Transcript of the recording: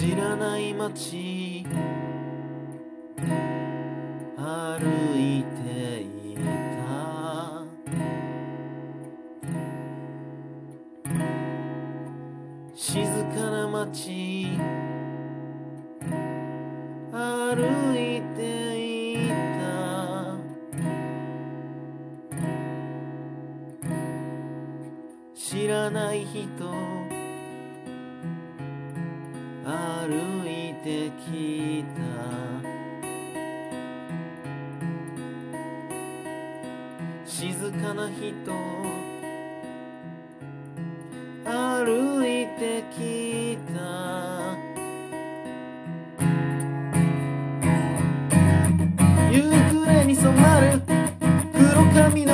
知らない街歩いていた。静かな街歩いていた。知らない人歩いてきた。静かな人歩いてきた。夕暮れに染まる黒髪の